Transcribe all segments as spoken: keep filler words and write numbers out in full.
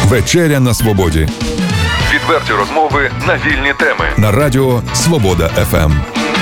Вечеря на свободі. Відверті розмови на вільні теми. На радіо Свобода еф ем.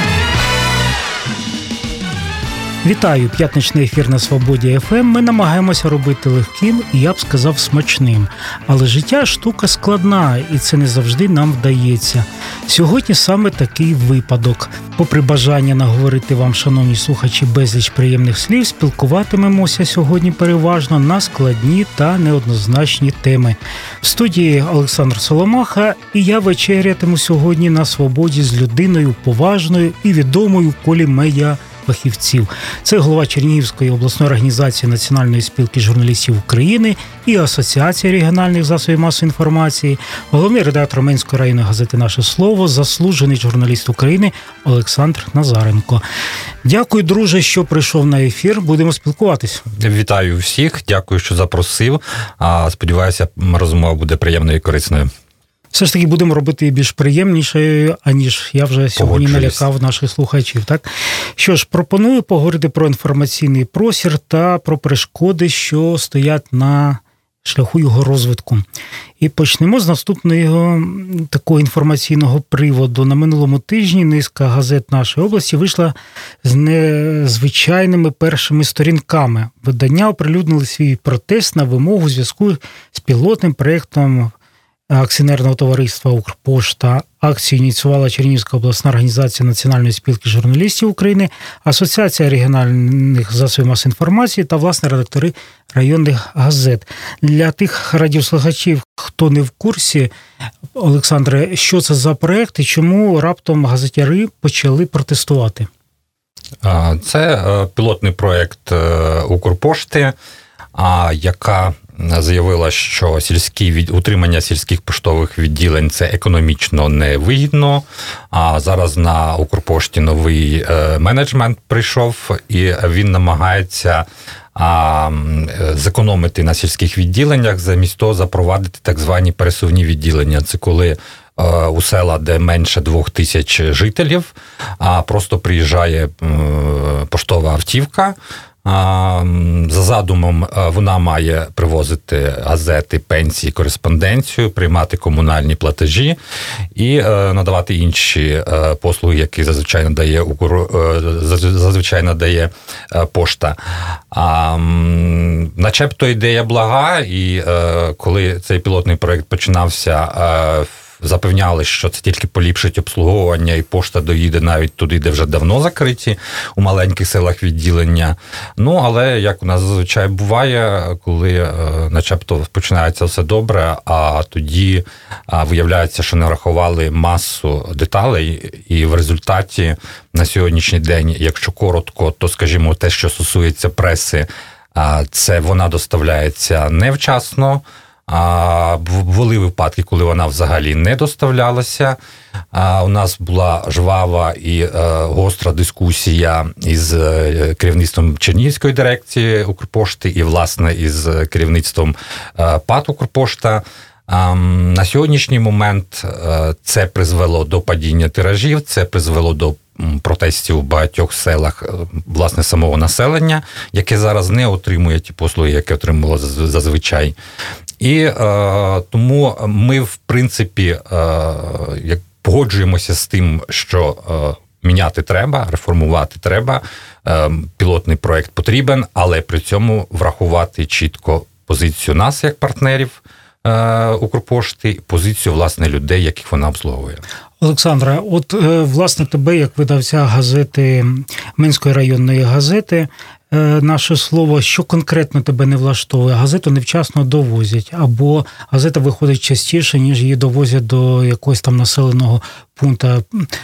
Вітаю! П'ятничний ефір на Свободі еф ем. Ми намагаємося робити легким і, я б сказав, смачним. Але життя – штука складна, і це не завжди нам вдається. Сьогодні саме такий випадок. Попри бажання наговорити вам, шановні слухачі, безліч приємних слів, спілкуватимемося сьогодні переважно на складні та неоднозначні теми. В студії Олександр Соломаха, і я вечерятиму сьогодні на свободі з людиною поважною і відомою в колі медіа фахівців. Це голова Чернігівської обласної організації Національної спілки журналістів України і Асоціації регіональних засобів масової інформації, головний редактор Менської районної газети «Наше слово», заслужений журналіст України Олександр Назаренко. Дякую, друже, що прийшов на ефір. Будемо спілкуватись. Вітаю всіх, дякую, що запросив. Сподіваюся, розмова буде приємною і корисною. Все ж таки будемо робити більш приємнішою, аніж я вже сьогодні налякав наших слухачів. Так? Що ж, пропоную поговорити про інформаційний простір та про перешкоди, що стоять на шляху його розвитку. І почнемо з наступного такого інформаційного приводу. На минулому тижні низка газет нашої області вийшла з незвичайними першими сторінками. Видання оприлюднили свій протест на вимогу у зв'язку з пілотним проєктом акціонерного товариства «Укрпошта». Акцію ініціювала Чернігівська обласна організація Національної спілки журналістів України, Асоціація регіональних засобів масової інформації та, власне, редактори районних газет. Для тих радіослухачів, хто не в курсі, Олександре, що це за проєкт і чому раптом газетяри почали протестувати? Це пілотний проєкт «Укрпошти», яка заявила, що сільські від... утримання сільських поштових відділень – це економічно невигідно, а зараз на Укрпошті новий е, менеджмент прийшов, і він намагається а, зекономити на сільських відділеннях, замість того запровадити так звані пересувні відділення. Це коли е, у села, де менше двох тисяч жителів, а просто приїжджає е, поштова автівка. За задумом вона має привозити газети, пенсії, кореспонденцію, приймати комунальні платежі і надавати інші послуги, які зазвичай надає, зазвичай надає пошта. Начебто ідея блага, і коли цей пілотний проєкт починався, запевняли, що це тільки поліпшить обслуговування, і пошта доїде навіть туди, де вже давно закриті, у маленьких селах відділення. Ну, але, як у нас зазвичай буває, коли начебто починається все добре, а тоді виявляється, що не врахували масу деталей, і в результаті на ссьогоднішній день, якщо коротко, то, скажімо, те, що стосується преси, це вона доставляється невчасно. А були випадки, коли вона взагалі не доставлялася. А у нас була жвава і е, гостра дискусія із е, керівництвом Чернігівської дирекції Укрпошти і, власне, із керівництвом е, ПАТ Укрпошта. А, на сьогоднішній момент е, це призвело до падіння тиражів, це призвело до протестів у багатьох селах, власне, самого населення, яке зараз не отримує ті послуги, які отримувало зазвичай. І е, тому ми, в принципі, е, як погоджуємося з тим, що е, міняти треба, реформувати треба, е, пілотний проєкт потрібен, але при цьому врахувати чітко позицію нас, як партнерів е, Укрпошти, позицію, власне, людей, яких вона обслуговує. Олександра, от, власне, тебе, як видавця газети, Менської районної газети, «Наше слово», що конкретно тебе не влаштовує? Газету невчасно довозять, або газета виходить частіше, ніж її довозять до якогось там населеного пункту.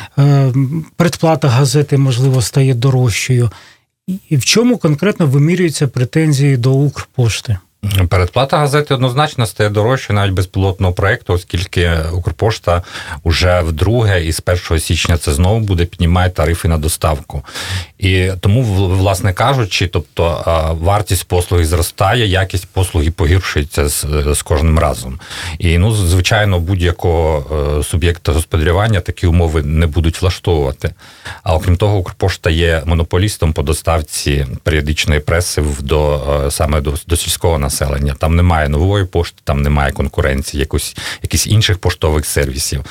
Предплата газети, можливо, стає дорожчою. І в чому конкретно вимірюються претензії до Укрпошти? Передплата газети однозначно стає дорожчою навіть без пілотного проєкту, оскільки Укрпошта вже вдруге і з першого січня це знову буде піднімає тарифи на доставку. І тому, власне кажучи, тобто вартість послуги зростає, якість послуги погіршується з, з кожним разом. І, ну, звичайно, будь-якого суб'єкта господарювання такі умови не будуть влаштовувати. А окрім того, Укрпошта є монополістом по доставці періодичної преси до, саме до, до сільського населення. населення. Там немає нової пошти, там немає конкуренції, якось, якісь інших поштових сервісів.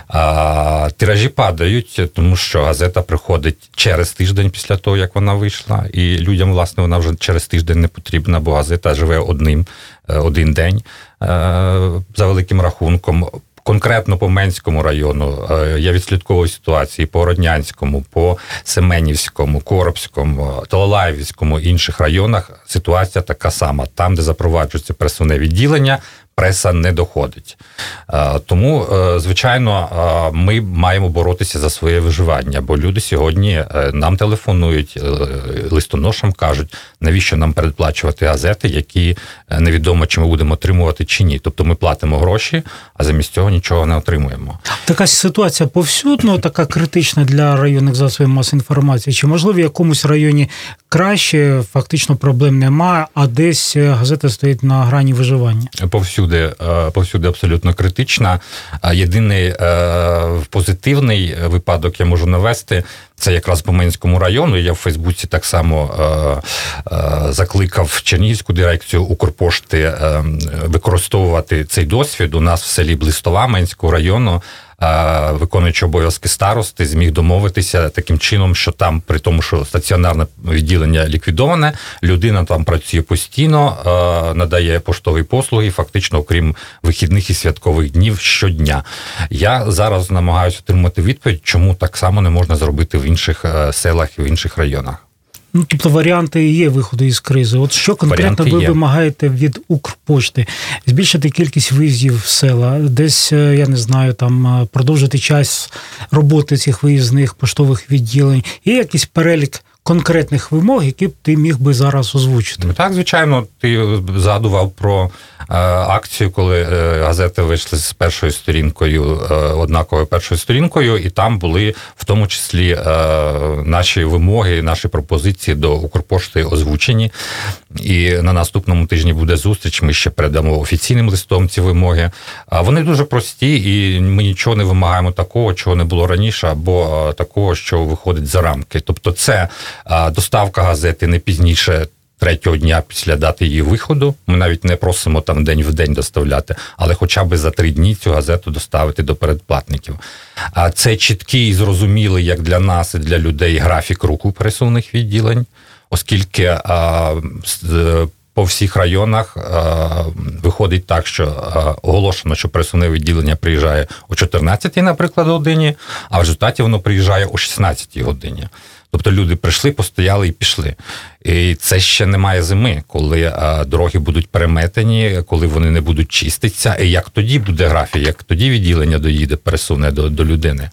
А, тиражі падають, тому що газета приходить через тиждень після того, як вона вийшла, і людям, власне, вона вже через тиждень не потрібна, бо газета живе одним, один день за великим рахунком. Конкретно по Менському району я відслідковую ситуації по Роднянському, по Семенівському, Коробському, Талалаївському, інших районах ситуація така сама. Там, де запроваджується пресовне відділення, преса не доходить. Тому, звичайно, ми маємо боротися за своє виживання, бо люди сьогодні нам телефонують, листоношам кажуть, навіщо нам передплачувати газети, які невідомо, чи ми будемо отримувати, чи ні. Тобто ми платимо гроші, а замість цього нічого не отримуємо. Така ситуація повсюдно, така критична для районних засобів масової інформації. Чи, можливо, в якомусь районі краще, фактично проблем немає, а десь газета стоїть на грані виживання? Повсюди, повсюди абсолютно критична. Єдиний позитивний випадок я можу навести, це якраз по Менському району. Я в Фейсбуці так само е, е, закликав Чернігівську дирекцію Укрпошти е, використовувати цей досвід. У нас в селі Блистова Менського району е, виконуючи обов'язки старости зміг домовитися таким чином, що там, при тому, що стаціонарне відділення ліквідоване, людина там працює постійно, е, надає поштові послуги, фактично, окрім вихідних і святкових днів, щодня. Я зараз намагаюся отримати відповідь, чому так само не можна зробити в інших селах і в інших районах. Ну, тобто варіанти є виходу із кризи. От що конкретно варіанти ви є. Вимагаєте від Укрпошти? Збільшити кількість виїздів в села, десь, я не знаю, там продовжити час роботи цих виїзних поштових відділень. Є якийсь перелік конкретних вимог, які б ти міг би зараз озвучити? Так, звичайно, ти згадував про е, акцію, коли е, газети вийшли з першою сторінкою, е, однаковою першою сторінкою, і там були в тому числі е, наші вимоги, наші пропозиції до Укрпошти озвучені. І на наступному тижні буде зустріч, ми ще передамо офіційним листом ці вимоги. А вони дуже прості, і ми нічого не вимагаємо такого, чого не було раніше, або такого, що виходить за рамки. Тобто це доставка газети не пізніше третього дня після дати її виходу. Ми навіть не просимо там день в день доставляти, але хоча б за три дні цю газету доставити до передплатників. А це чіткий і зрозумілий, як для нас і для людей, графік руху пересувних відділень, оскільки а, по всіх районах а, виходить так, що а, оголошено, що пересувне відділення приїжджає о чотирнадцятій, наприклад, годині, а в результаті воно приїжджає о шістнадцятій годині. Тобто люди прийшли, постояли і пішли. І це ще немає зими, коли а, дороги будуть переметені, коли вони не будуть чиститися. І як тоді буде графік, як тоді відділення доїде, пересувне до, до людини.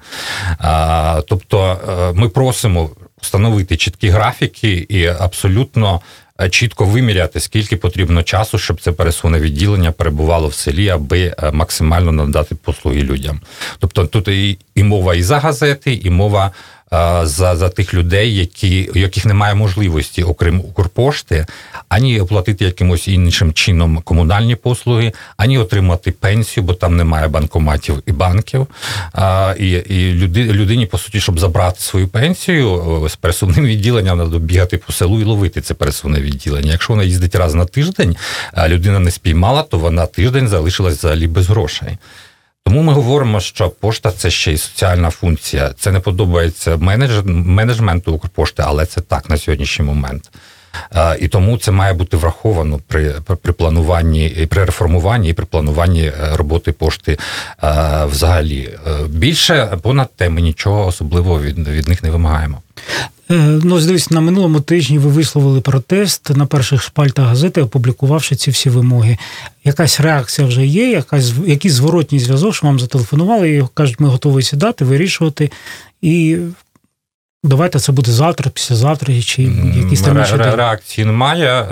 А, тобто а, ми просимо встановити чіткі графіки і абсолютно чітко виміряти, скільки потрібно часу, щоб це пересувне відділення перебувало в селі, аби максимально надати послуги людям. Тобто тут і, і мова і за газети, і мова За, за тих людей, які, у яких немає можливості, окрім Укрпошти, ані оплатити якимось іншим чином комунальні послуги, ані отримати пенсію, бо там немає банкоматів і банків. А, і і люди, людині, по суті, щоб забрати свою пенсію, з пересувним відділенням треба бігати по селу і ловити це пересувне відділення. Якщо вона їздить раз на тиждень, а людина не спіймала, то вона тиждень залишилась взагалі без грошей. Тому ми говоримо, що пошта – це ще й соціальна функція. Це не подобається менедж... менеджменту Укрпошти, але це так на сьогоднішній момент. І тому це має бути враховано при, при плануванні, при реформуванні і при плануванні роботи пошти взагалі. Більше понад те ми нічого особливого від, від них не вимагаємо. Ну, дивіться, на минулому тижні ви висловили протест на перших шпальтах газети, опублікувавши ці всі вимоги. Якась реакція вже є, якась, якийсь зворотній зв'язок, що вам зателефонували і кажуть, ми готові сідати, вирішувати, і давайте це буде завтра, післязавтра, чи якісь там інші... Ре- реакції немає.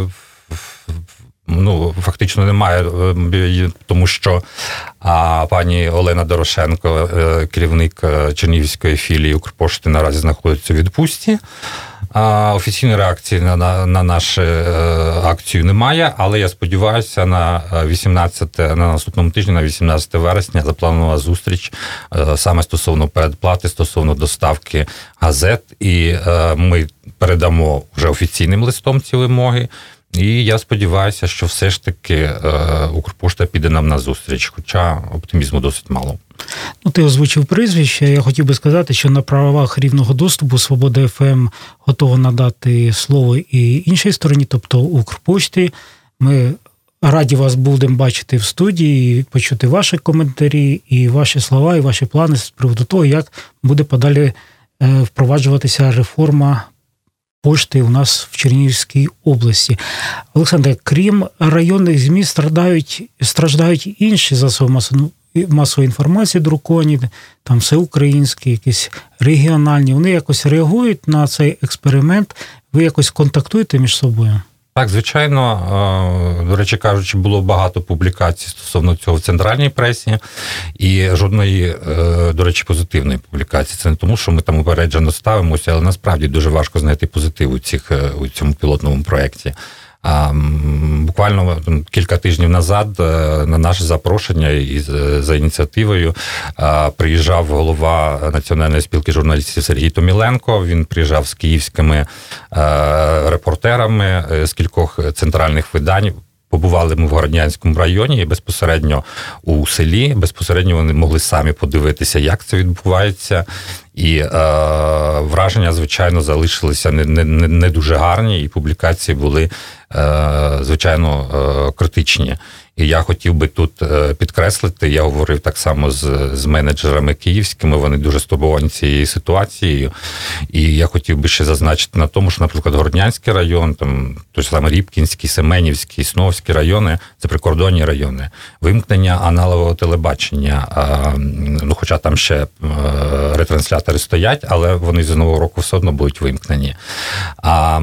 Ну, фактично немає, тому що а, пані Олена Дорошенко, керівник Чернігівської філії Укрпошти, наразі знаходиться у відпустці. А, офіційної реакції на, на, на нашу акцію немає, але я сподіваюся, на вісімнадцяте, на наступному тижні, на вісімнадцяте вересня, запланована зустріч саме стосовно передплати, стосовно доставки газет, і ми передамо вже офіційним листом ці вимоги. І я сподіваюся, що все ж таки е, Укрпошта піде нам на зустріч, хоча оптимізму досить мало. Ну, ти озвучив прізвище. Я хотів би сказати, що на правах рівного доступу Свобода еф ем готова надати слово і іншій стороні, тобто Укрпошті. Ми раді вас будемо бачити в студії, почути ваші коментарі, і ваші слова, і ваші плани з приводу того, як буде подалі впроваджуватися реформа пошти у нас в Чернігівській області. Олександре, крім районних ЗМІ, страждають, страждають інші засоби масової інформації, друковані, там всеукраїнські, якісь регіональні. Вони якось реагують на цей експеримент? Ви якось контактуєте між собою? Так, звичайно, до речі кажучи, було багато публікацій стосовно цього в центральній пресі і жодної, до речі, позитивної публікації. Це не тому, що ми там упереджено ставимося, але насправді дуже важко знайти позитив у, цих, у цьому пілотному проєкті. А, буквально кілька тижнів назад на наше запрошення і за ініціативою приїжджав голова Національної спілки журналістів Сергій Томіленко. Він приїжджав з київськими репортерами з кількох центральних видань. Побували ми в Городнянському районі і безпосередньо у селі, безпосередньо вони могли самі подивитися, як це відбувається. І е, враження, звичайно, залишилися не, не, не дуже гарні, і публікації були, е, звичайно, е, критичні. І я хотів би тут підкреслити, я говорив так само з, з менеджерами київськими, вони дуже стурбовані цією ситуацією. І я хотів би ще зазначити на тому, що, наприклад, Городнянський район, там той самий Рібкінський, Семенівський, Сновський райони – це прикордонні райони. Вимкнення аналогового телебачення, ну, хоча там ще ретранслятори стоять, але вони з нового року все одно будуть вимкнені. А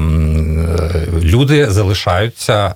люди залишаються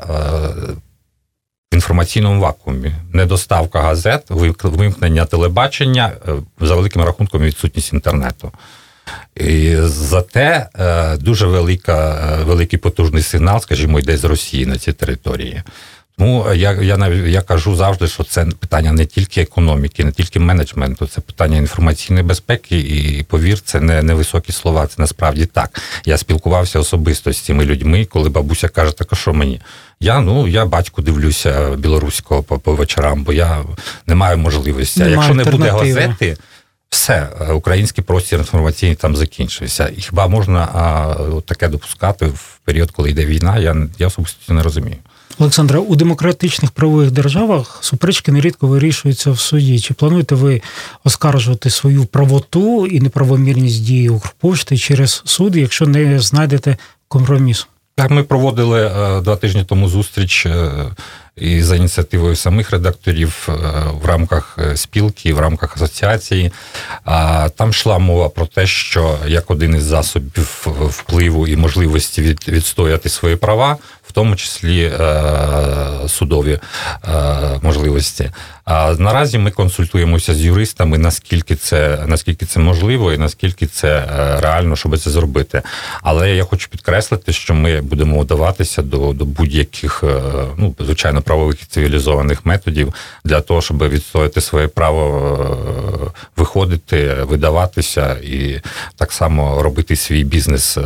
в інформаційному вакуумі. Недоставка газет, вимкнення телебачення, за великим рахунком відсутність інтернету. І зате дуже велика, великий потужний сигнал, скажімо, йде з Росії на ці території. Тому я, я, я кажу завжди, що це питання не тільки економіки, не тільки менеджменту, це питання інформаційної безпеки, і, повір, це не, не високі слова, це насправді так. Я спілкувався особисто з цими людьми, коли бабуся каже, так а що мені? Я, ну, я батьку дивлюся білоруського по, по вечорам, бо я не маю можливості. А якщо не буде газети, все, український простір інформаційний там закінчився. І хіба можна а, таке допускати в період, коли йде війна, я, я особисто не розумію. Олександре, у демократичних правових державах суперечки нерідко вирішуються в суді. Чи плануєте ви оскаржувати свою правоту і неправомірність дії Укрпошти через суд, якщо не знайдете компромісу? Так, ми проводили два тижні тому зустріч і за ініціативою самих редакторів в рамках спілки, в рамках асоціації. Там йшла мова про те, що як один із засобів впливу і можливості від, відстояти свої права, в тому числі судові можливості. А наразі ми консультуємося з юристами, наскільки це, наскільки це можливо і наскільки це реально, щоб це зробити. Але я хочу підкреслити, що ми будемо вдаватися до, до будь-яких, ну, звичайно, правових і цивілізованих методів для того, щоб відстояти своє право виходити, видаватися і так само робити свій бізнес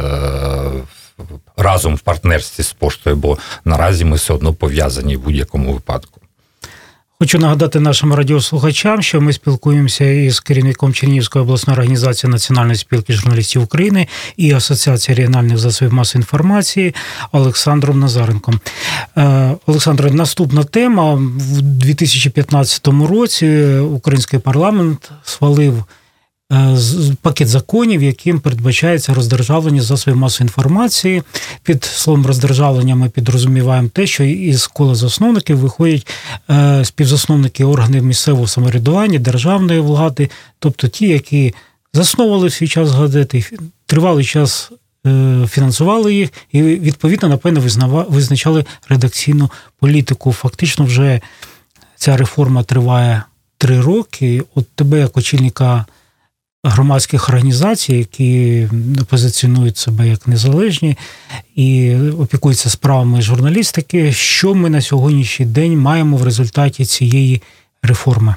разом в партнерстві з поштою, бо наразі ми все одно пов'язані в будь-якому випадку. Хочу нагадати нашим радіослухачам, що ми спілкуємося із керівником Чернігівської обласної організації Національної спілки журналістів України і Асоціації регіональних засобів масової інформації Олександром Назаренком. Олександр, наступна тема. В дві тисячі п'ятнадцятому році український парламент схвалив пакет законів, яким передбачається роздержавлення засобів масової інформації. Під словом роздержавлення ми підрозуміваємо те, що із кола засновників виходять співзасновники органів місцевого самоврядування, державної влади, тобто ті, які засновували в свій час газети, тривалий час фінансували їх і, відповідно, напевно, визначали редакційну політику. Фактично вже ця реформа триває три роки. От тебе, як очільника громадських організацій, які позиціонують себе як незалежні і опікуються справами журналістики, що ми на сьогоднішній день маємо в результаті цієї реформи?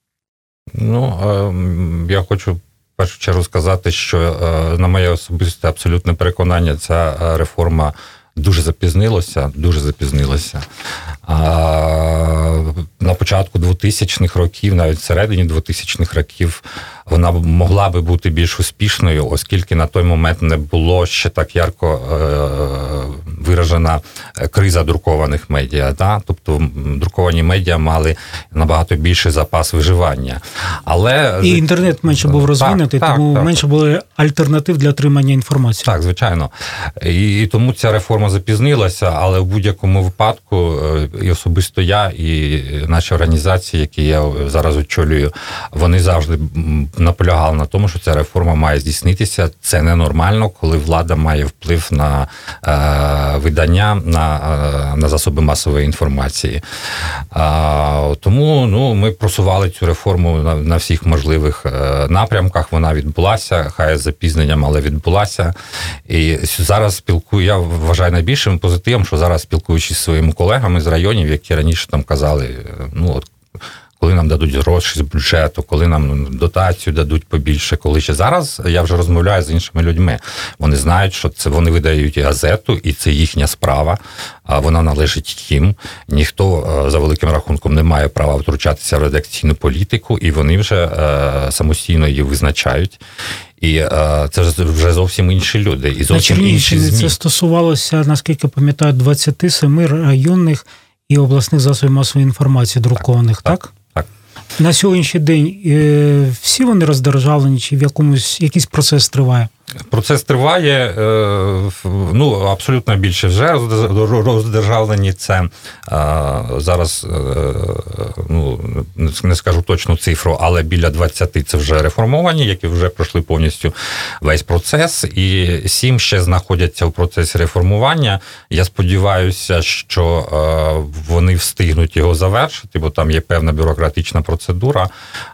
Ну, я хочу в першу чергу сказати, що на моє особисте абсолютне переконання, ця реформа дуже запізнилося, дуже запізнилося. А, на початку двотисячних років, навіть всередині двотисячних років, вона могла би бути більш успішною, оскільки на той момент не було ще так ярко е- виражена криза друкованих медіа. Да? Тобто друковані медіа мали набагато більший запас виживання. Але і інтернет менше був розвинутий, так, тому так, менше так. було альтернатив для отримання інформації. Так, звичайно. І, і тому ця реформа запізнилася, але в будь-якому випадку і особисто я, і наші організації, які я зараз очолюю, вони завжди наполягали на тому, що ця реформа має здійснитися. Це ненормально, коли влада має вплив на е, видання, на, е, на засоби масової інформації. Е, тому ну, ми просували цю реформу на, на всіх можливих е, напрямках. Вона відбулася, хай з запізненням, але відбулася. І зараз спілкую, я вважаю найбільшим позитивом, що зараз спілкуючись зі своїми колегами з районів, які раніше там казали, ну от, коли нам дадуть гроші з бюджету, коли нам дотацію дадуть побільше, коли ще зараз я вже розмовляю з іншими людьми. Вони знають, що це вони видають газету, і це їхня справа, а вона належить їм. Ніхто за великим рахунком не має права втручатися в редакційну політику, і вони вже е, самостійно її визначають. І е, це вже зовсім інші люди. І зовсім на інші ЗМІ. Це стосувалося, наскільки пам'ятаю, двадцять сім районних і обласних засобів масової інформації друкованих, так? Так. так. На сьогоднішній день е, всі вони роздержавлені, чи в якомусь якийсь процес триває? Процес триває, ну, абсолютно більше вже роздержавлені. Це зараз, ну, не скажу точну цифру, але біля двадцять це вже реформовані, які вже пройшли повністю весь процес, і сім ще знаходяться в процесі реформування. Я сподіваюся, що вони встигнуть його завершити, бо там є певна бюрократична процедура.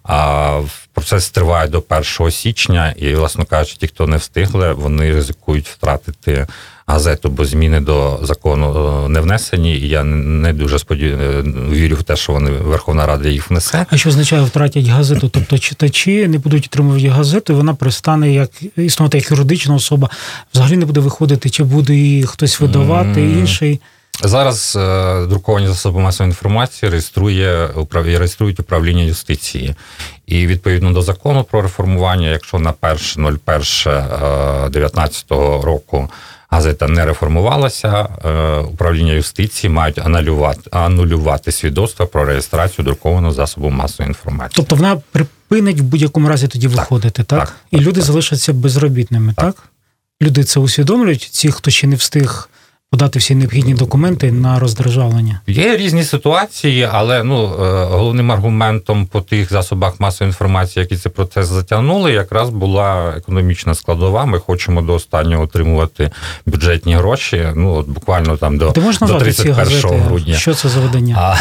Процес триває до першого січня, і, власне кажучи, ті, хто не встигли, вони ризикують втратити газету, бо зміни до закону не внесені, і я не дуже сподіваюся, вірю в те, що вони, Верховна Рада їх внесе. А що означає втратять газету? Тобто читачі не будуть отримувати газету, і вона перестане як існувати як юридична особа, взагалі не буде виходити, чи буде її хтось видавати, mm. інший? Зараз е, друковані засоби масової інформації реєструє, управ... реєструють управління юстиції. І відповідно до закону про реформування, якщо на перше дев'ятнадцятого року газета не реформувалася, е, управління юстиції мають анулювати, анулювати свідоцтво про реєстрацію друкованого засобу масової інформації. Тобто вона припинить в будь-якому разі тоді так, виходити, так? так І так, люди так. залишаться безробітними, так. так? Люди це усвідомлюють, ті, хто ще не встиг подати всі необхідні документи на роздержавлення? Є різні ситуації, але ну, головним аргументом по тих засобах масової інформації, які цей процес затягнули, якраз була економічна складова. Ми хочемо до останнього отримувати бюджетні гроші, ну, от буквально там до, до тридцять першого грудня. Що це за видання? А,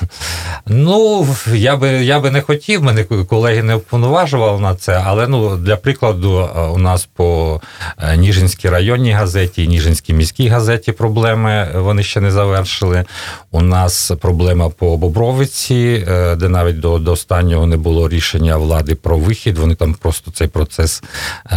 ну, я би, я би не хотів, мене колеги не уповноважували на це, але ну, для прикладу у нас по Ніжинській районній газеті і Ніжинській міській газеті проблеми, вони ще не завершили. У нас проблема по Бобровиці, де навіть до, до останнього не було рішення влади про вихід, вони там просто цей процес е-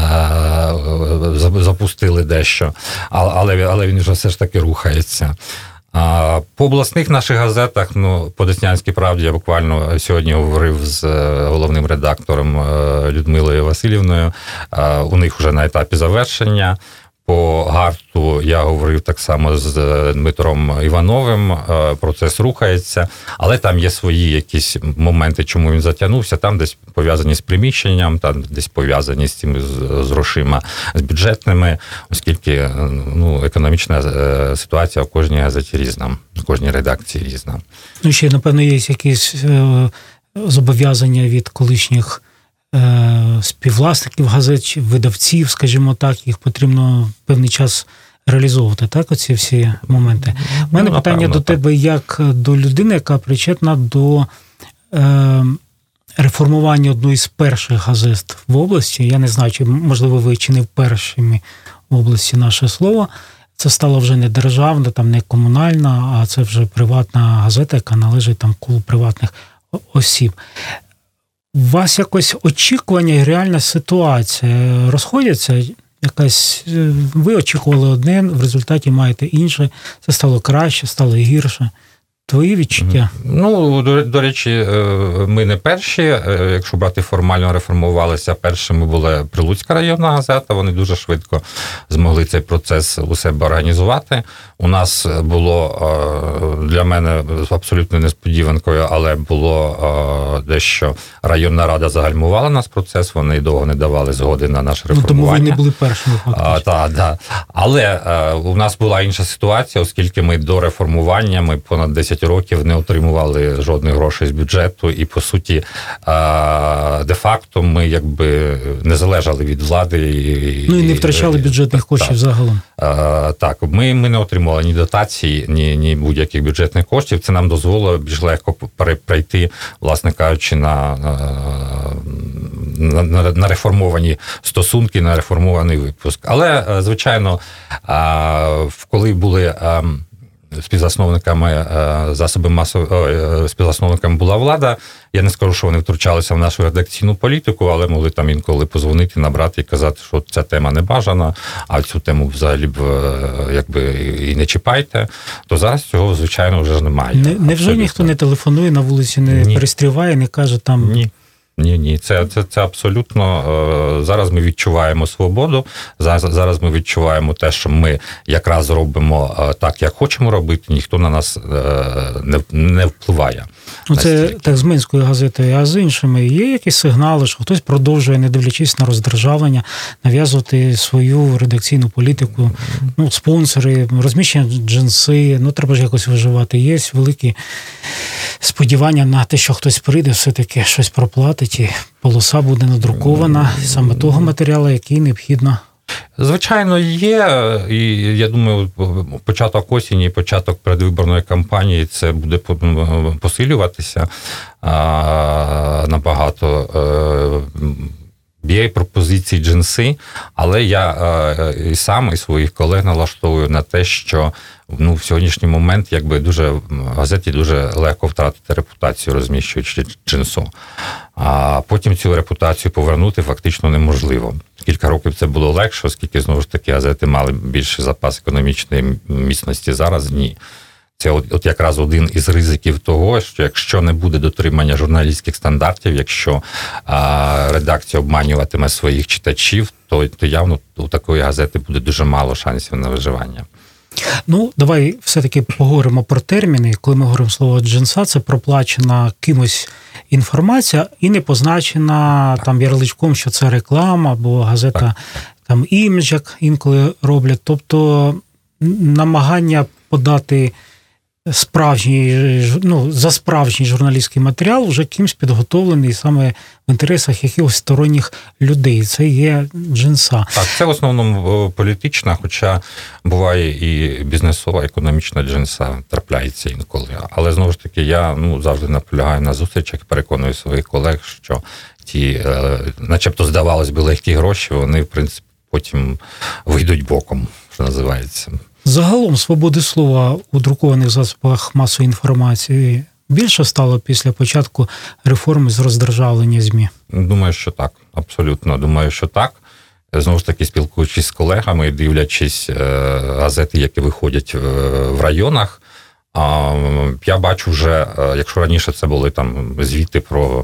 запустили дещо, але, але він вже все ж таки рухається. А по обласних наших газетах, ну, по Деснянській правді я буквально сьогодні говорив з головним редактором Людмилою Васильівною, у них вже на етапі завершення. По Гарту я говорив так само з Дмитром Івановим, процес рухається, але там є свої якісь моменти, чому він затягнувся, там десь пов'язані з приміщенням, там десь пов'язані з цим, з, з грошима, з бюджетними, оскільки ну, економічна ситуація в кожній газеті різна, в кожній редакції різна. Ну, ще, напевно, є якісь е, зобов'язання від колишніх співвласників газет, чи видавців, скажімо так, їх потрібно певний час реалізовувати, так, оці всі моменти. У мене ну, питання напевно, до тебе як до людини, яка причетна до е, реформування одної з перших газет в області. Я не знаю, чи, можливо, ви чи не першими в області наше слово. Це стало вже не державна, там не комунальна, а це вже приватна газета, яка належить там колу приватних осіб. У вас якось очікування і реальна ситуація розходяться? якась, ви очікували одне, в результаті маєте інше, це стало краще, стало гірше. Твої відчуття? Ну, до, до речі, ми не перші. Якщо брати формально, реформувалися, першими була Прилуцька районна газета, вони дуже швидко змогли цей процес у себе організувати. У нас було, для мене абсолютно несподіванкою, але було дещо районна рада загальмувала нас процес, вони довго не давали згоди на наше реформування. Ну, тому ви не були першими, фактично. Так, так. Але у нас була інша ситуація, оскільки ми до реформування, ми понад десять років не отримували жодних грошей з бюджету, і, по суті, де-факто ми якби не залежали від влади. І, ну і не втрачали бюджетних коштів так, загалом. Так, ми, ми не отримували ні дотацій, ні, ні будь-яких бюджетних коштів. Це нам дозволило більш легко перейти, власне кажучи, на, на, на, на реформовані стосунки, на реформований випуск. Але, звичайно, коли були співзасновниками засоби масової, співзасновниками була влада. Я не скажу, що вони втручалися в нашу редакційну політику, але могли там інколи позвонити, набрати і казати, що ця тема не бажана, а цю тему взагалі б якби і не чіпайте. То зараз цього, звичайно, вже немає. Не, невже ніхто не телефонує на вулиці, не Ні. перестріває, не каже там... Ні. Ні, ні, це, це, це абсолютно, зараз ми відчуваємо свободу, зараз, зараз ми відчуваємо те, що ми якраз робимо так, як хочемо робити, ніхто на нас не, не впливає. Ну, це так з Минською газетою, а з іншими є якісь сигнали, що хтось продовжує, не дивлячись на роздержавлення, нав'язувати свою редакційну політику, ну, спонсори, розміщення джинси, ну, треба ж якось виживати. Є великі сподівання на те, що хтось прийде, все-таки щось проплатить, і полоса буде надрукована саме того матеріалу, який необхідно. Звичайно, є, і я думаю, початок осені, початок передвиборної кампанії, це буде посилюватися набагато. Є пропозиції джинси, але я і сам, і своїх колег налаштовую на те, що ну, в сьогоднішній момент якби дуже в газеті дуже легко втратити репутацію, розміщуючи джинсу. А потім цю репутацію повернути фактично неможливо. Кілька років це було легше, оскільки, знову ж таки, газети мали більший запас економічної міцності. Зараз ні. Це от, от якраз один із ризиків того, що якщо не буде дотримання журналістських стандартів, якщо а, редакція обманюватиме своїх читачів, то, то явно у такої газети буде дуже мало шансів на виживання. Ну, давай все-таки поговоримо про терміни. Коли ми говоримо слово джинса, це проплачена кимось інформація і не позначена там ярличком, що це реклама, або газета так. там імідж, як інколи роблять. Тобто намагання подати справжній, ну, за справжній журналістський матеріал вже кимсь підготовлений саме в інтересах якихось сторонніх людей. Це є джинса. Так, це в основному політична, хоча буває і бізнесова, економічна джинса трапляється інколи. Але, знову ж таки, я ну, завжди наполягаю на зустрічах, переконую своїх колег, що ті, начебто, здавалось би, легкі гроші, вони, в принципі, потім вийдуть боком, що називається. Загалом свободи слова у друкованих засобах масової інформації більше стало після початку реформи з роздержавлення ЗМІ? Думаю, що так. Абсолютно. Думаю, що так. Знову ж таки, спілкуючись з колегами, дивлячись газети, які виходять в районах, я бачу вже, якщо раніше це були там звіти про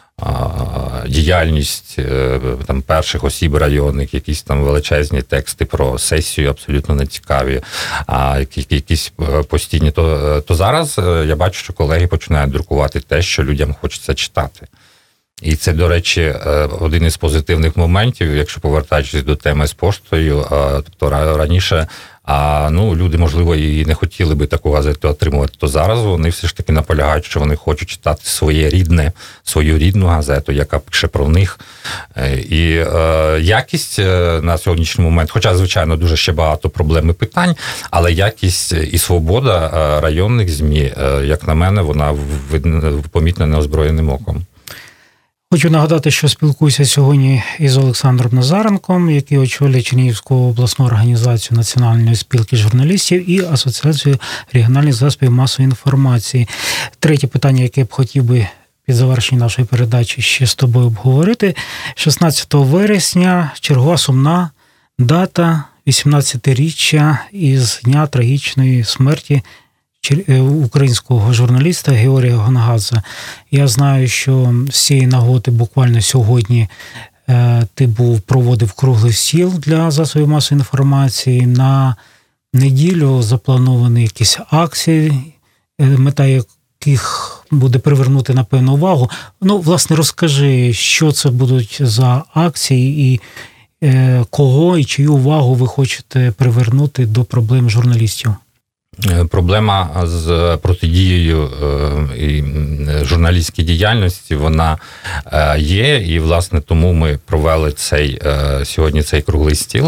діяльність там перших осіб районних, якісь там величезні тексти про сесію, абсолютно нецікаві, а якісь постійні, то, то зараз я бачу, що колеги починають друкувати те, що людям хочеться читати. І це, до речі, один із позитивних моментів, якщо повертаючись до теми з поштою, тобто раніше а ну, люди, можливо, і не хотіли би таку газету отримувати, то зараз вони все ж таки наполягають, що вони хочуть читати своє рідне, свою рідну газету, яка пише про них. І е, якість на сьогоднішній момент, хоча, звичайно, дуже ще багато проблем і питань, але якість і свобода районних ЗМІ, як на мене, вона помітна неозброєним оком. Хочу нагадати, що спілкуюся сьогодні із Олександром Назаренком, який очолює Чернігівську обласну організацію Національної спілки журналістів і Асоціацію регіональних засобів масової інформації. Третє питання, яке я б хотів би під завершення нашої передачі ще з тобою обговорити. шістнадцятого вересня чергова сумна дата вісімнадцятиріччя із дня трагічної смерті українського журналіста Георгія Гонгадзе. Я знаю, що з цієї нагоди буквально сьогодні ти був, проводив круглий стіл для засобів масової інформації. На неділю заплановані якісь акції, мета яких буде привернути, напевно, увагу. Ну, власне, розкажи, що це будуть за акції і е, кого і чию увагу ви хочете привернути до проблем журналістів? Проблема з протидією і журналістській діяльності, вона є, і, власне, тому ми провели цей, сьогодні цей круглий стіл,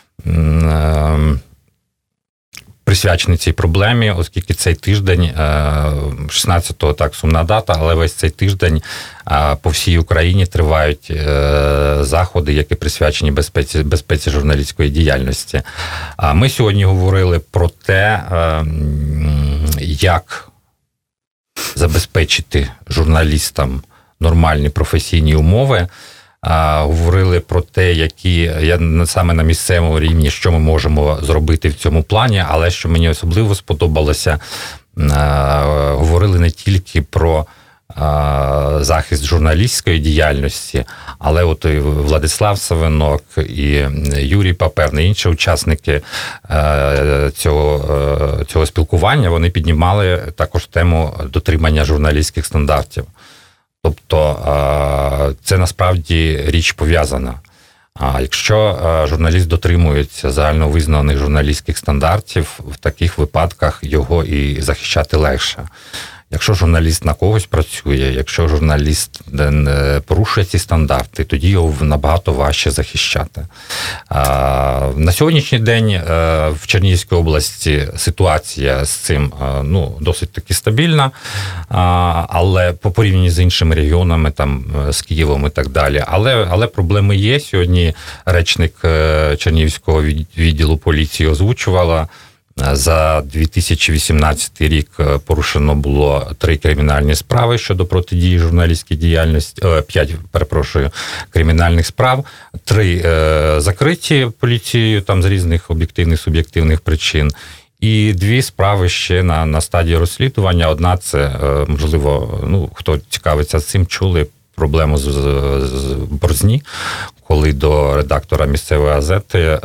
присвячений цій проблемі, оскільки цей тиждень, шістнадцятого, так, сумна дата, але весь цей тиждень по всій Україні тривають заходи, які присвячені безпеці, безпеці журналістської діяльності. Ми сьогодні говорили про те, як забезпечити журналістам нормальні професійні умови, говорили про те, які я саме на місцевому рівні, що ми можемо зробити в цьому плані, але що мені особливо сподобалося, говорили не тільки про захист журналістської діяльності, але от і Владислав Савинок, і Юрій Паперний, інші учасники цього, цього спілкування, вони піднімали також тему дотримання журналістських стандартів. Тобто це насправді річ пов'язана. Якщо журналіст дотримується загальновизнаних журналістських стандартів, в таких випадках його і захищати легше. Якщо журналіст на когось працює, якщо журналіст порушує ці стандарти, тоді його набагато важче захищати. На сьогоднішній день в Чернігівській області ситуація з цим ну, досить таки стабільна, але по порівнянні з іншими регіонами, там, з Києвом і так далі. Але, але проблеми є. Сьогодні речник Чернігівського відділу поліції озвучувала, за дві тисячі вісімнадцятий рік порушено було три кримінальні справи щодо протидії журналістській діяльності, п'ять, перепрошую, кримінальних справ, три е, закриті поліцією там з різних об'єктивних, суб'єктивних причин, і дві справи ще на, на стадії розслідування. Одна це, е, можливо, ну, хто цікавиться цим, чули проблему з, з, з Борзні, коли до редактора місцевої газети е,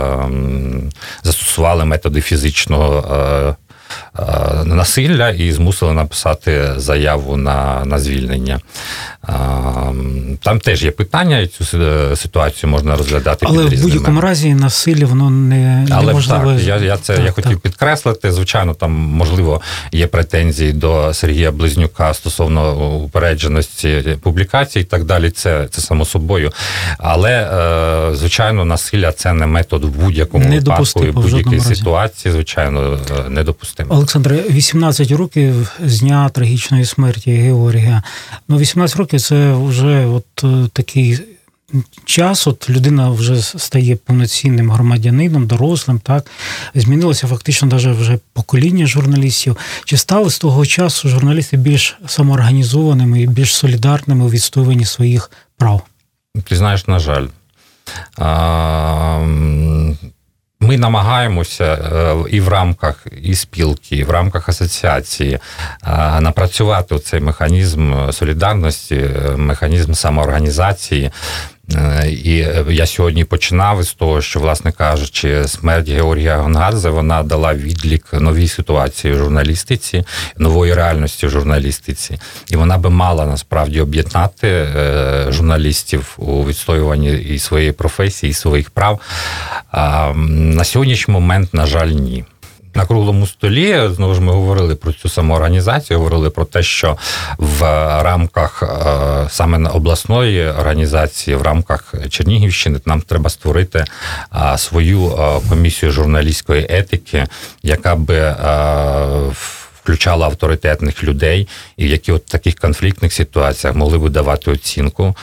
застосували методи фізичного е, е, насилля і змусили написати заяву на, на звільнення. Е, там теж є питання, і цю ситуацію можна розглядати але під різними. Але в будь-якому разі насилля, воно не, але неможливо. Так, я, я це так, я хотів так. підкреслити. Звичайно, там, можливо, є претензії до Сергія Близнюка стосовно упередженості публікацій і так далі. Це, це само собою. Але, звичайно, насилля – це не метод в будь-якому випадку і в будь-якій ситуації, звичайно, недопустимо. Олександре, вісімнадцять років з дня трагічної смерті Георгія. Ну, вісімнадцять років – це вже от такий час, от людина вже стає повноцінним громадянином, дорослим, так? Змінилося фактично навіть вже покоління журналістів. Чи стали з того часу журналісти більш самоорганізованими і більш солідарними у відстоюванні своїх прав? Ти знаєш, на жаль. Ми намагаємося і в рамках і спілки, і в рамках асоціації напрацювати цей механізм солідарності, механізм самоорганізації. І я сьогодні починав із того, що, власне кажучи, смерть Георгія Гонгадзе, вона дала відлік новій ситуації в журналістиці, нової реальності в журналістиці. І вона би мала, насправді, об'єднати журналістів у відстоюванні і своєї професії, і своїх прав. А на сьогоднішній момент, на жаль, ні. На круглому столі, знову ж ми говорили про цю самоорганізацію, говорили про те, що в рамках саме обласної організації, в рамках Чернігівщини нам треба створити свою комісію журналістської етики, яка би включала авторитетних людей, і які от в таких конфліктних ситуаціях могли би давати оцінку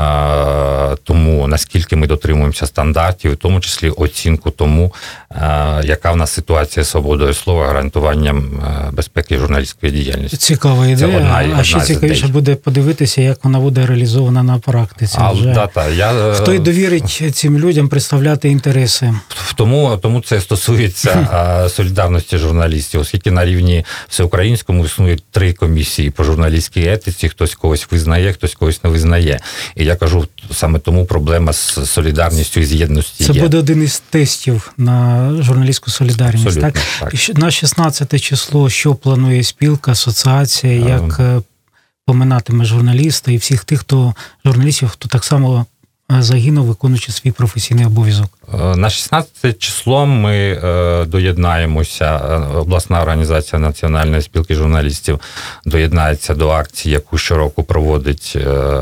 тому, наскільки ми дотримуємося стандартів, в тому числі оцінку тому, яка в нас ситуація з свободою слова, гарантуванням безпеки журналістської діяльності. Цікава ідея, одна, а одна ще цікавіше буде подивитися, як вона буде реалізована на практиці. А, вже. Да, та, я, Хто й довірить цим людям представляти інтереси? Тому, тому це стосується солідарності журналістів, оскільки на рівні всеукраїнському існують три комісії по журналістській етиці, хтось когось визнає, хтось когось не визнає. І я кажу, саме тому проблема з солідарністю і з єдності Це є. буде один із тестів на журналістську солідарність. Абсолютно, так? так. На шістнадцяте число, що планує спілка, асоціація, як а... поминатиме журналіста і всіх тих, хто журналістів, хто так само загинув, виконуючи свій професійний обов'язок? На шістнадцяте число ми доєднаємося, обласна організація Національної спілки журналістів доєднається до акції, яку щороку проводить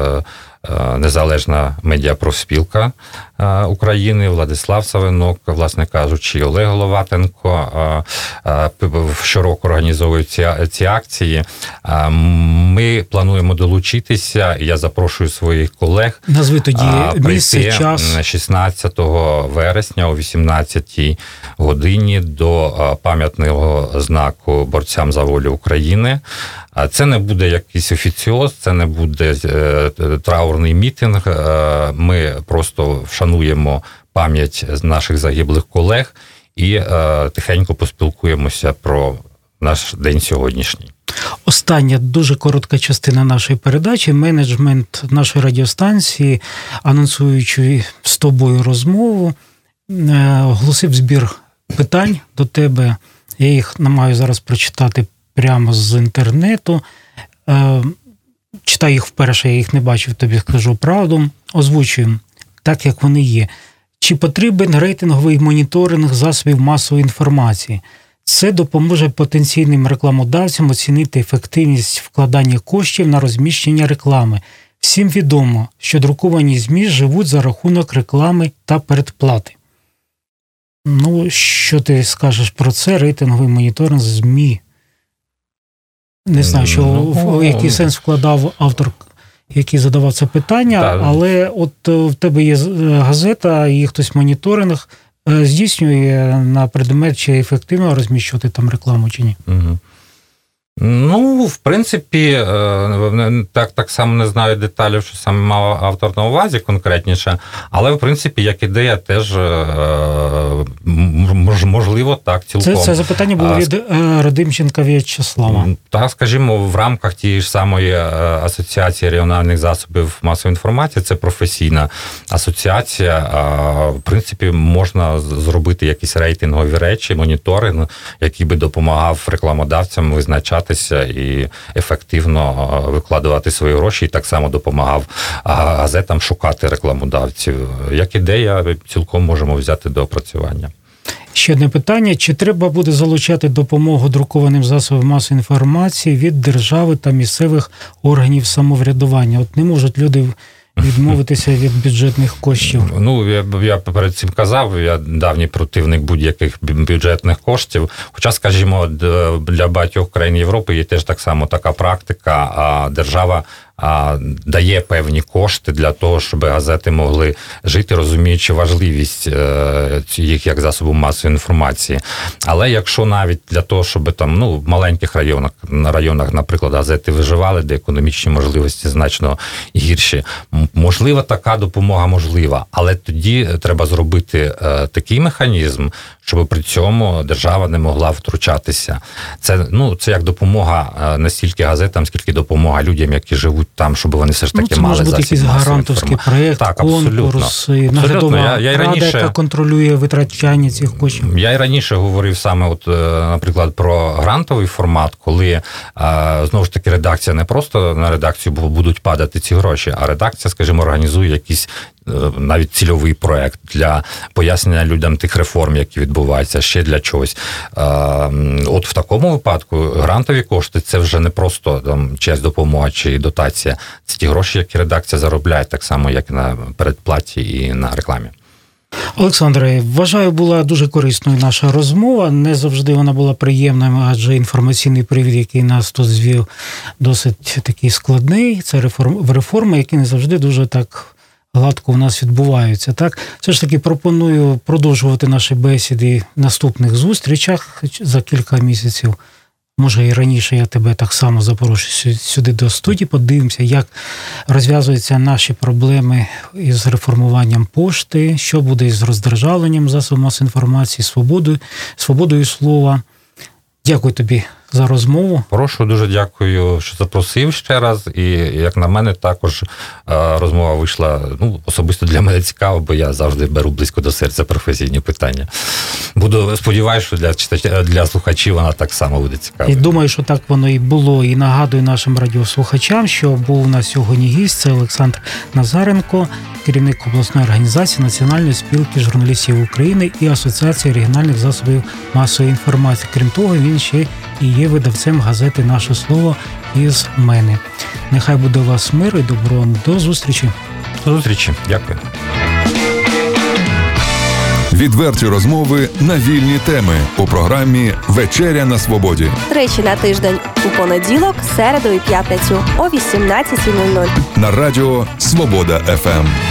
Незалежна медіапрофспілка України, Владислав Савинок, власне кажучи, Олег Головатенко щороку організовують ці, ці акції. Ми плануємо долучитися, і я запрошую своїх колег. Назви тоді місце, час. шістнадцятого вересня о вісімнадцятій годині до пам'ятного знаку борцям за волю України. Це не буде якийсь офіціоз, це не буде траурний мітинг. Ми просто вшануємо пам'ять наших загиблих колег і тихенько поспілкуємося про наш день сьогоднішній. Остання дуже коротка частина нашої передачі. Менеджмент нашої радіостанції, анонсуючи з тобою розмову, оголосив збір питань до тебе. Я їх намагаю зараз прочитати прямо з інтернету. Читаю їх вперше, я їх не бачив, тобі скажу правду. Озвучуємо так, як вони є. Чи потрібен рейтинговий моніторинг засобів масової інформації? Це допоможе потенційним рекламодавцям оцінити ефективність вкладання коштів на розміщення реклами. Всім відомо, що друковані ЗМІ живуть за рахунок реклами та передплати. Ну, що ти скажеш про це? Рейтинговий моніторинг ЗМІ. Не знаю, що в який сенс вкладав автор, який задавав це питання, так. Але от в тебе є газета, і хтось моніторинг здійснює на предмет, чи ефективно розміщувати там рекламу, чи ні? Угу. Ну, в принципі, так, так само не знаю деталів, що саме мав автор на увазі конкретніше, але, в принципі, як ідея теж можливо так цілком. Це, це запитання було від Радимченка В'ячеслава. Так, скажімо, в рамках тієї ж самої асоціації регіональних засобів масової інформації, це професійна асоціація, в принципі, можна зробити якісь рейтингові речі, моніторинг, який би допомагав рекламодавцям визначати і ефективно викладувати свої гроші, і так само допомагав газетам шукати рекламодавців. Як ідея, цілком можемо взяти до опрацювання. Ще одне питання. Чи треба буде залучати допомогу друкованим засобам масової інформації від держави та місцевих органів самоврядування? От не можуть люди відмовитися від бюджетних коштів. Ну, я, я перед цим казав, я давній противник будь-яких бюджетних коштів. Хоча, скажімо, для багатьох країн Європи є теж так само така практика, а держава а, дає певні кошти для того, щоб газети могли жити, розуміючи важливість е, їх як засобу масової інформації. Але якщо навіть для того, щоб там, ну, в маленьких районах, на районах, наприклад, газети виживали, де економічні можливості значно гірші, можлива така допомога, можлива, але тоді треба зробити е, такий механізм, щоб при цьому держава не могла втручатися. Це, ну, це як допомога не стільки газетам, скільки допомога людям, які живуть там, щоб вони все ж таки ну, мали засіб масової інформації. Це може бути якийсь гарантовський проєкт, так, конкурс, наглядова я, я рада, раніше, яка контролює витрачання цих коштів. Я і раніше говорив саме, от, наприклад, про грантовий формат, коли, знову ж таки, редакція не просто на редакцію будуть падати ці гроші, а редакція, скажімо, організує якісь навіть цільовий проект для пояснення людям тих реформ, які відбуваються, ще для чогось. От в такому випадку грантові кошти – це вже не просто там чиясь допомога чи дотація. Це ті гроші, які редакція заробляє, так само, як і на передплаті і на рекламі. Олександре, вважаю, була дуже корисною наша розмова. Не завжди вона була приємною, адже інформаційний привід, який нас тут звів, досить такий складний. Це реформ, реформи, які не завжди дуже так гладко у нас відбуваються. Так? Все ж таки пропоную продовжувати наші бесіди в наступних зустрічах за кілька місяців. Може, і раніше я тебе так само запрошую сюди до студії, подивимося, як розв'язуються наші проблеми із реформуванням пошти, що буде із роздержавленням засобів масової інформації, свободою, свободою слова. Дякую тобі за розмову. Прошу, дуже дякую, що запросив ще раз. І, як на мене, також розмова вийшла, ну, особисто для мене цікаво, бо я завжди беру близько до серця професійні питання. Буду сподіваюся, що для читачів, для слухачів вона так само буде цікава. І думаю, що так воно і було. І нагадую нашим радіослухачам, що був у нас сьогодні гість, це Олександр Назаренко, керівник обласної організації Національної спілки журналістів України і Асоціації регіональних засобів масової інформації. Крім того, він ще і є видавцем газети «Наше слово» із мене. Нехай буде у вас мир і добро. До зустрічі. До зустрічі. Дякую. Відверті розмови на вільні теми у програмі «Вечеря на свободі». Тричі на тиждень у понеділок, середу і п'ятницю о вісімнадцятій нуль нуль. На радіо «Свобода еф ем».